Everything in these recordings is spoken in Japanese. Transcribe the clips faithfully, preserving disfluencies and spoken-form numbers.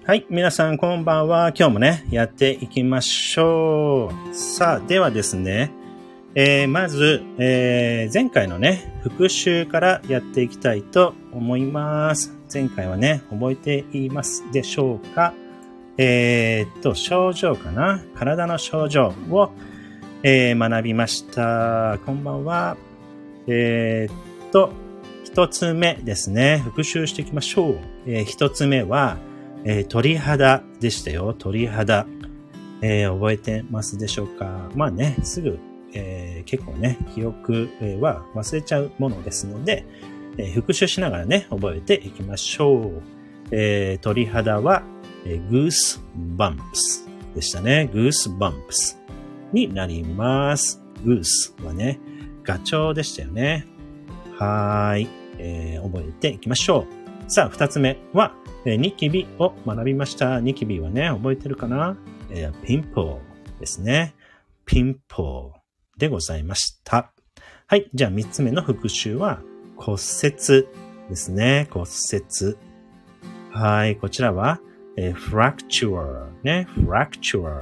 はい、皆さんこんばんは。今日もね、やっていきましょう。さあ、ではですね、えー、まず、えー、前回のね、復習からやっていきたいと思います。前回はね、覚えていますでしょうか？えー、っと、症状かな？体の症状を、えー、学びました。こんばんは。えー、っと、一つ目ですね。復習していきましょう。えー、一つ目は、えー、鳥肌でしたよ。鳥肌、えー。覚えてますでしょうか？まあね、すぐ、えー、結構ね、記憶は忘れちゃうものですので、えー、復習しながらね、覚えていきましょう。えー、鳥肌は、えー、goose bumps でしたね。goose bumps になります。goose はね、ガチョウでしたよね。はーい、えー、覚えていきましょう。さあ、二つ目は、えー、ニキビを学びました。ニキビはね、覚えてるかな？えー、ピンポーですね。ピンポーでございました。はい。じゃあ三つ目の復習は骨折ですね。骨折。はい。こちらは、えー、fracture ね。fracture。はい。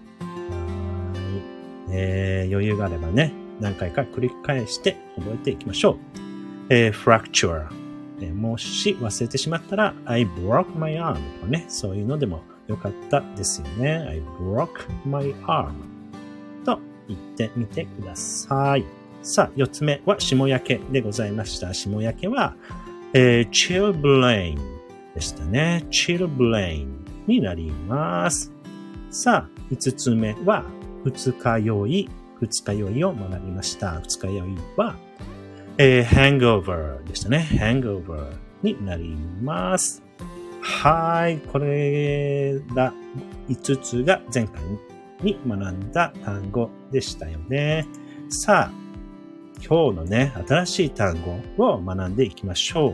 えー、余裕があればね、何回か繰り返して覚えていきましょう。えー、fracture。もし忘れてしまったら I broke my arm とかね、そういうのでもよかったですよね。I broke my arm と言ってみてください。さあ、四つ目は霜焼けでございました。霜焼けは、えー、chilblain でしたね。chilblain になります。さあ、五つ目は二日酔い。二日酔いを学びました。二日酔いはえー、hangover でしたね。hangover になります。はい。これが五つが前回に学んだ単語でしたよね。さあ、今日のね、新しい単語を学んでいきましょう。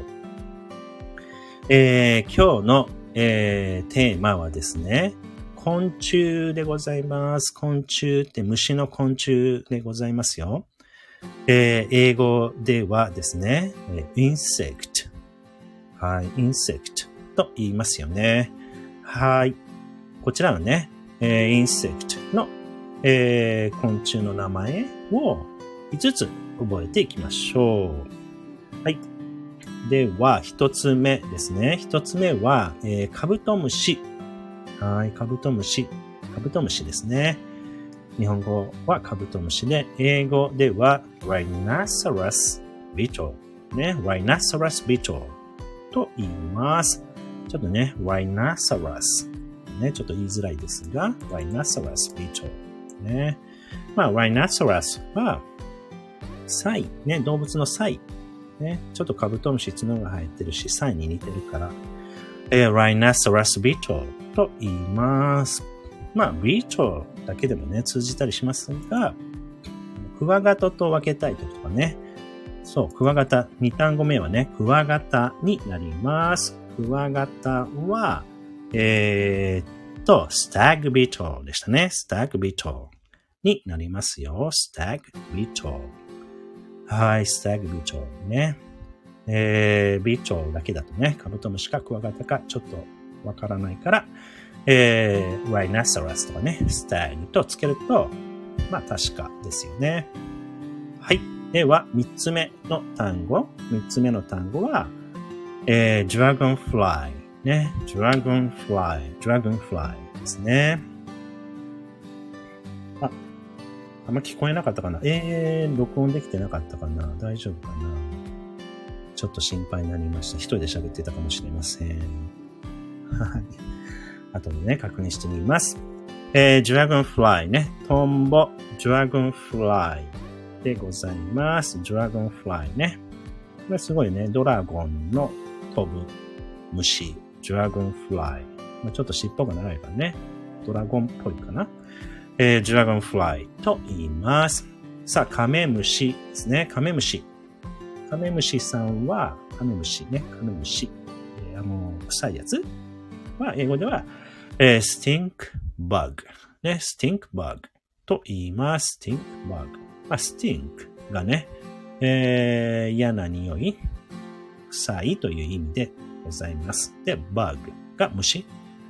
えー、今日の、えー、テーマはですね、昆虫でございます。昆虫って虫の昆虫でございますよ。えー、英語ではですね、insect。はい、insect と言いますよね。はい。こちらのね、えー、insect の、えー、昆虫の名前をいつつ覚えていきましょう。はい。では、一つ目ですね。一つ目は、えー、カブトムシ。はい、カブトムシ。カブトムシですね。日本語はカブトムシで、英語では Rhinoceros beetle ね、Rhinoceros beetle と言います。ちょっとね、Rhinoceros ね、ちょっと言いづらいですが、Rhinoceros beetle ね。まあ、Rhinoceros は、サイ、ね、動物のサイ、ね、ちょっとカブトムシ角が生えてるし、サイに似てるから、えー、Rhinoceros beetle と言います。まあ、ビートルだけでもね、通じたりしますが、クワガタと分けたいときとかね。そう、クワガタ、二単語目はね、クワガタになります。クワガタは、えー、っと、スタグビートルでしたね。スタグビートルになりますよ。スタグビートル。はい、スタグビートルね。えー、ビートルだけだとね、カブトムシかクワガタかちょっとわからないから、えー、ライナソラスとかね、スタグとつけると、まあ確かですよね。はい。では、三つ目の単語。三つ目の単語は、えー、ドラゴンフライ。ね。ドラゴンフライ。ドラゴンフライですね。あ、あんま聞こえなかったかな？えー、録音できてなかったかな？大丈夫かな？ちょっと心配になりました。一人で喋ってたかもしれません。はい。後でね、確認してみます。えー、ドラゴンフライね。トンボ、ドラゴンフライでございます。ドラゴンフライね。これすごいね、ドラゴンの飛ぶ虫、ドラゴンフライ。まあ、ちょっと尻尾が長いからね。ドラゴンっぽいかな。えー、ドラゴンフライと言います。さあ、カメムシですね。カメムシ。カメムシさんは、カメムシね。カメムシ。えー、あの、臭いやつは、英語では、えー、stink bug ね、stink bug と言います。stink bug。まあ、stink がね、えー、嫌な匂い、臭いという意味でございます。で、bug が虫。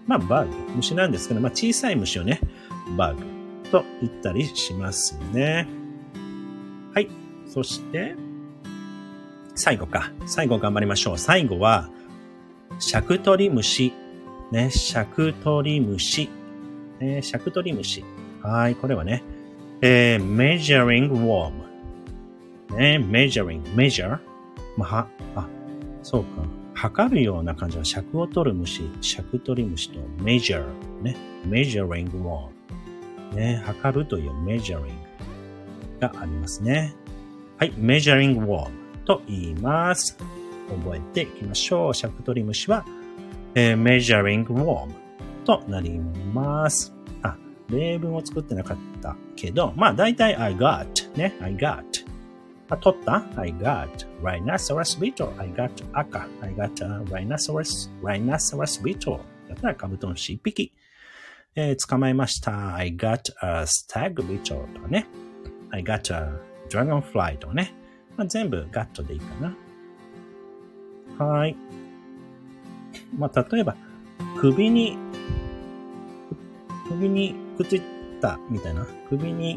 まあ、バグ、虫なんですけど、まあ、小さい虫をね、バグと言ったりしますね。はい。そして、最後か。最後頑張りましょう。最後は、シャクトリムシ。ね、シャクトリムシ。ね、シャクトリムシ。はい、これはね、えー、measuring worm。ね、measuring、measure。まあ、は、あ、そうか。測るような感じは尺を取る虫、尺取り虫と measure。ね、measuring worm。ね、測るという measuring がありますね。はい、measuring worm と言います。覚えていきましょう。尺取り虫は、えー、measuring worm となります。あ、例文を作ってなかったけど、まあ大体 I got ね、I got あ、取った I got rhinoceros beetle I got 赤 I got a rhinoceros rhinoceros beetle だったらカブトムシ一匹、えー、捕まえました。I got a stag beetle とかね。I got a dragonfly とかね。まあ、全部 got でいいかな。はい。まあ、例えば、首に、首にくっついたみたいな。首に、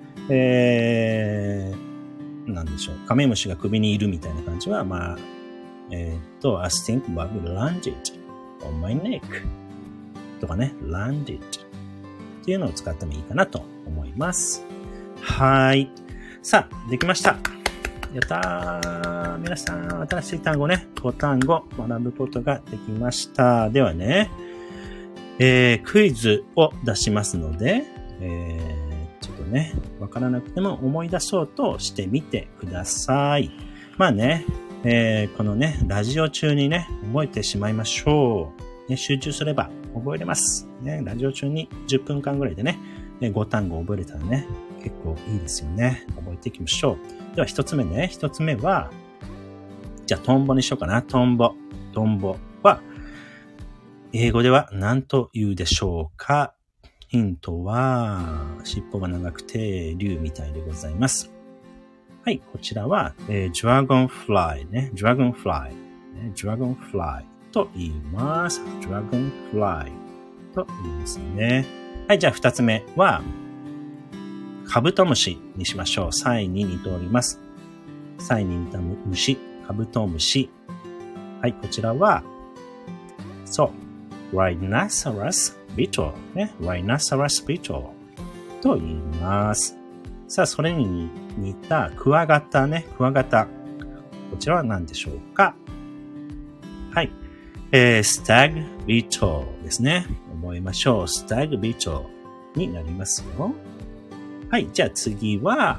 えー、なんでしょう。カメムシが首にいるみたいな感じは、まあ、えっと、a stink bug landed on my neck とかね、landed っていうのを使ってもいいかなと思います。はい。さあ、できました。やったー。皆さん、新しい単語ね、ご単語学ぶことができました。ではね、えー、クイズを出しますので、えー、ちょっとね、わからなくても思い出そうとしてみてください。まあね、えー、このね、ラジオ中にね、覚えてしまいましょう。ね、集中すれば覚えれます。ね、ラジオ中にじゅっぷんかんぐらいでね、ご単語覚えれたらね、結構いいですよね。覚えていきましょう。では一つ目ね。一つ目は、じゃあトンボにしようかな。トンボ。トンボは、英語では何と言うでしょうか？ヒントは、尻尾が長くて竜みたいでございます。はい、こちらは、えー、ドラゴンフライね。ドラゴンフライ。ね、ドラゴンフライと言います。ドラゴンフライと言いますね。はい、じゃあ二つ目は、カブトムシにしましょう。サイに似ております。サイに似た虫、カブトムシ。はい、こちらは、そう、Rhinoceros beetle ね。Rhinoceros beetle と言います。さあ、それに似たクワガタね。クワガタ。こちらは何でしょうか？はい。えー、Stag beetle ですね。覚えましょう。Stag beetle になりますよ。はい。じゃあ次は、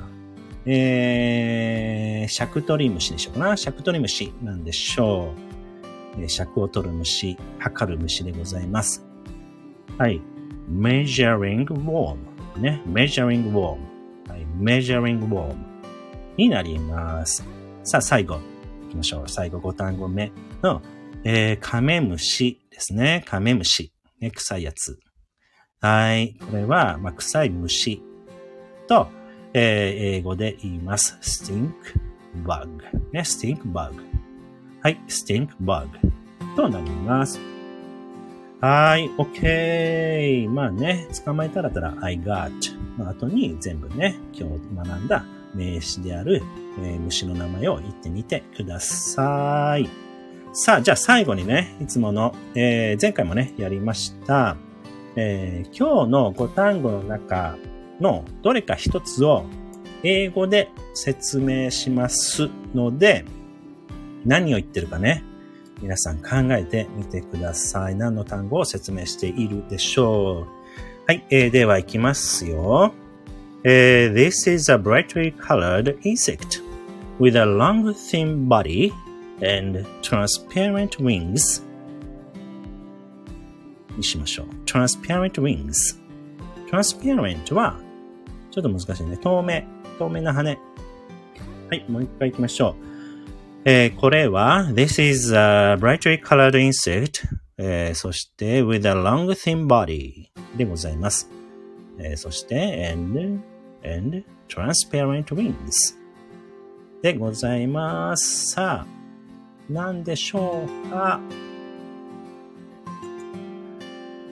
えー、シャクトリムシでしょうかな。シャクトリムシなんでしょう。えー、尺を取る虫、測る虫でございます。はい。measuring worm ね。measuring worm。はい。measuring worm になります。さあ、最後。行きましょう。最後ご単語目の、えー、カメムシですね。カメムシ。ね、臭いやつ。はい。これは、まあ、臭い虫と、えー、英語で言います。stink bug。ね、stink bug。はい、stink bug となります。はい、OK。まあね、捕まえたらたら I got の後に全部ね、今日学んだ名詞である、えー、虫の名前を言ってみてください。さあ、じゃあ最後にね、いつもの、えー、前回もね、やりました。えー、今日のご単語の中のどれか一つを英語で説明しますので、何を言ってるかね、皆さん考えてみてください。何の単語を説明しているでしょう。はい、えー、では行きますよ。えー、This is a brightly colored insect with a long thin body and transparent wings. にしましょう。transparent wings。transparent はちょっと難しいね。透明。透明な羽。はい、もう一回行きましょう。えー、これは、This is a brightly colored insect、えー、そして、with a long thin body でございます。えー、そして、and, and transparent wings でございます。さあ、何でしょうか？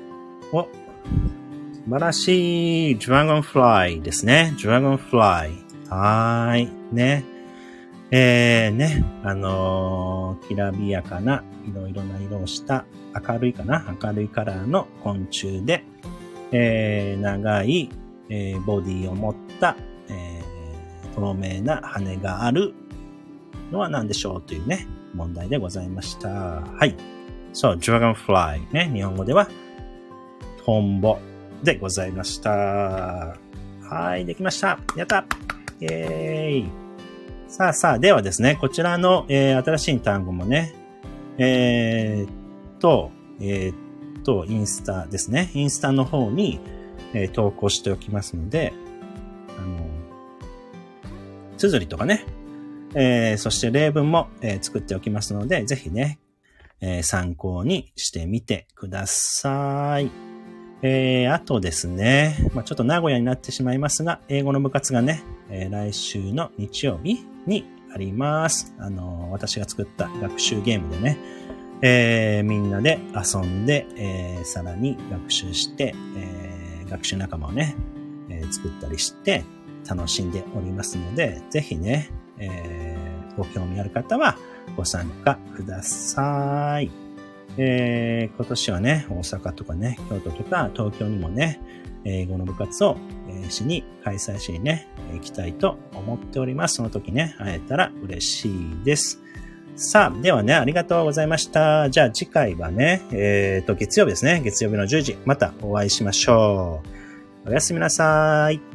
お、素晴らしい。ドラゴンフライですね。ドラゴンフライ。はーい。ね。えー、ね。あのー、きらびやかな、いろいろな色をした明るいかな明るいカラーの昆虫で、えー、長い、えー、ボディを持った、えー、透明な羽があるのは何でしょうというね、問題でございました。はい。そう、dragonfly ね。日本語では、トンボでございました。はい、できました。やったイェーイさあさあ、ではですね、こちらの、えー、新しい単語もね、えー、っと、えー、っと、インスタですね。インスタの方に、えー、投稿しておきますので、あの、綴りとかね、えー、そして例文も、えー、作っておきますので、ぜひね、えー、参考にしてみてください。えー、あとですね、まあ、ちょっと名古屋になってしまいますが、英語の部活がね、えー、来週の日曜日にあります。あのー、私が作った学習ゲームでね、えー、みんなで遊んで、えー、さらに学習して、えー、学習仲間をね、えー、作ったりして楽しんでおりますので、ぜひね、えー、ご興味ある方はご参加ください。えー、今年はね、大阪とかね、京都とか東京にもね、英語の部活を、えー、しに、開催しにね、行きたいと思っております。その時ね、会えたら嬉しいです。さあ、ではね、ありがとうございました。じゃあ次回はね、えーと、月曜日ですね。月曜日のじゅうじ、またお会いしましょう。おやすみなさい。